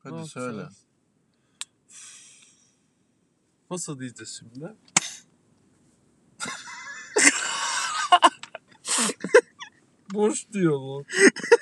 Hadi söyle. Nasıl diyeceğiz şimdi? Boş diyor bu.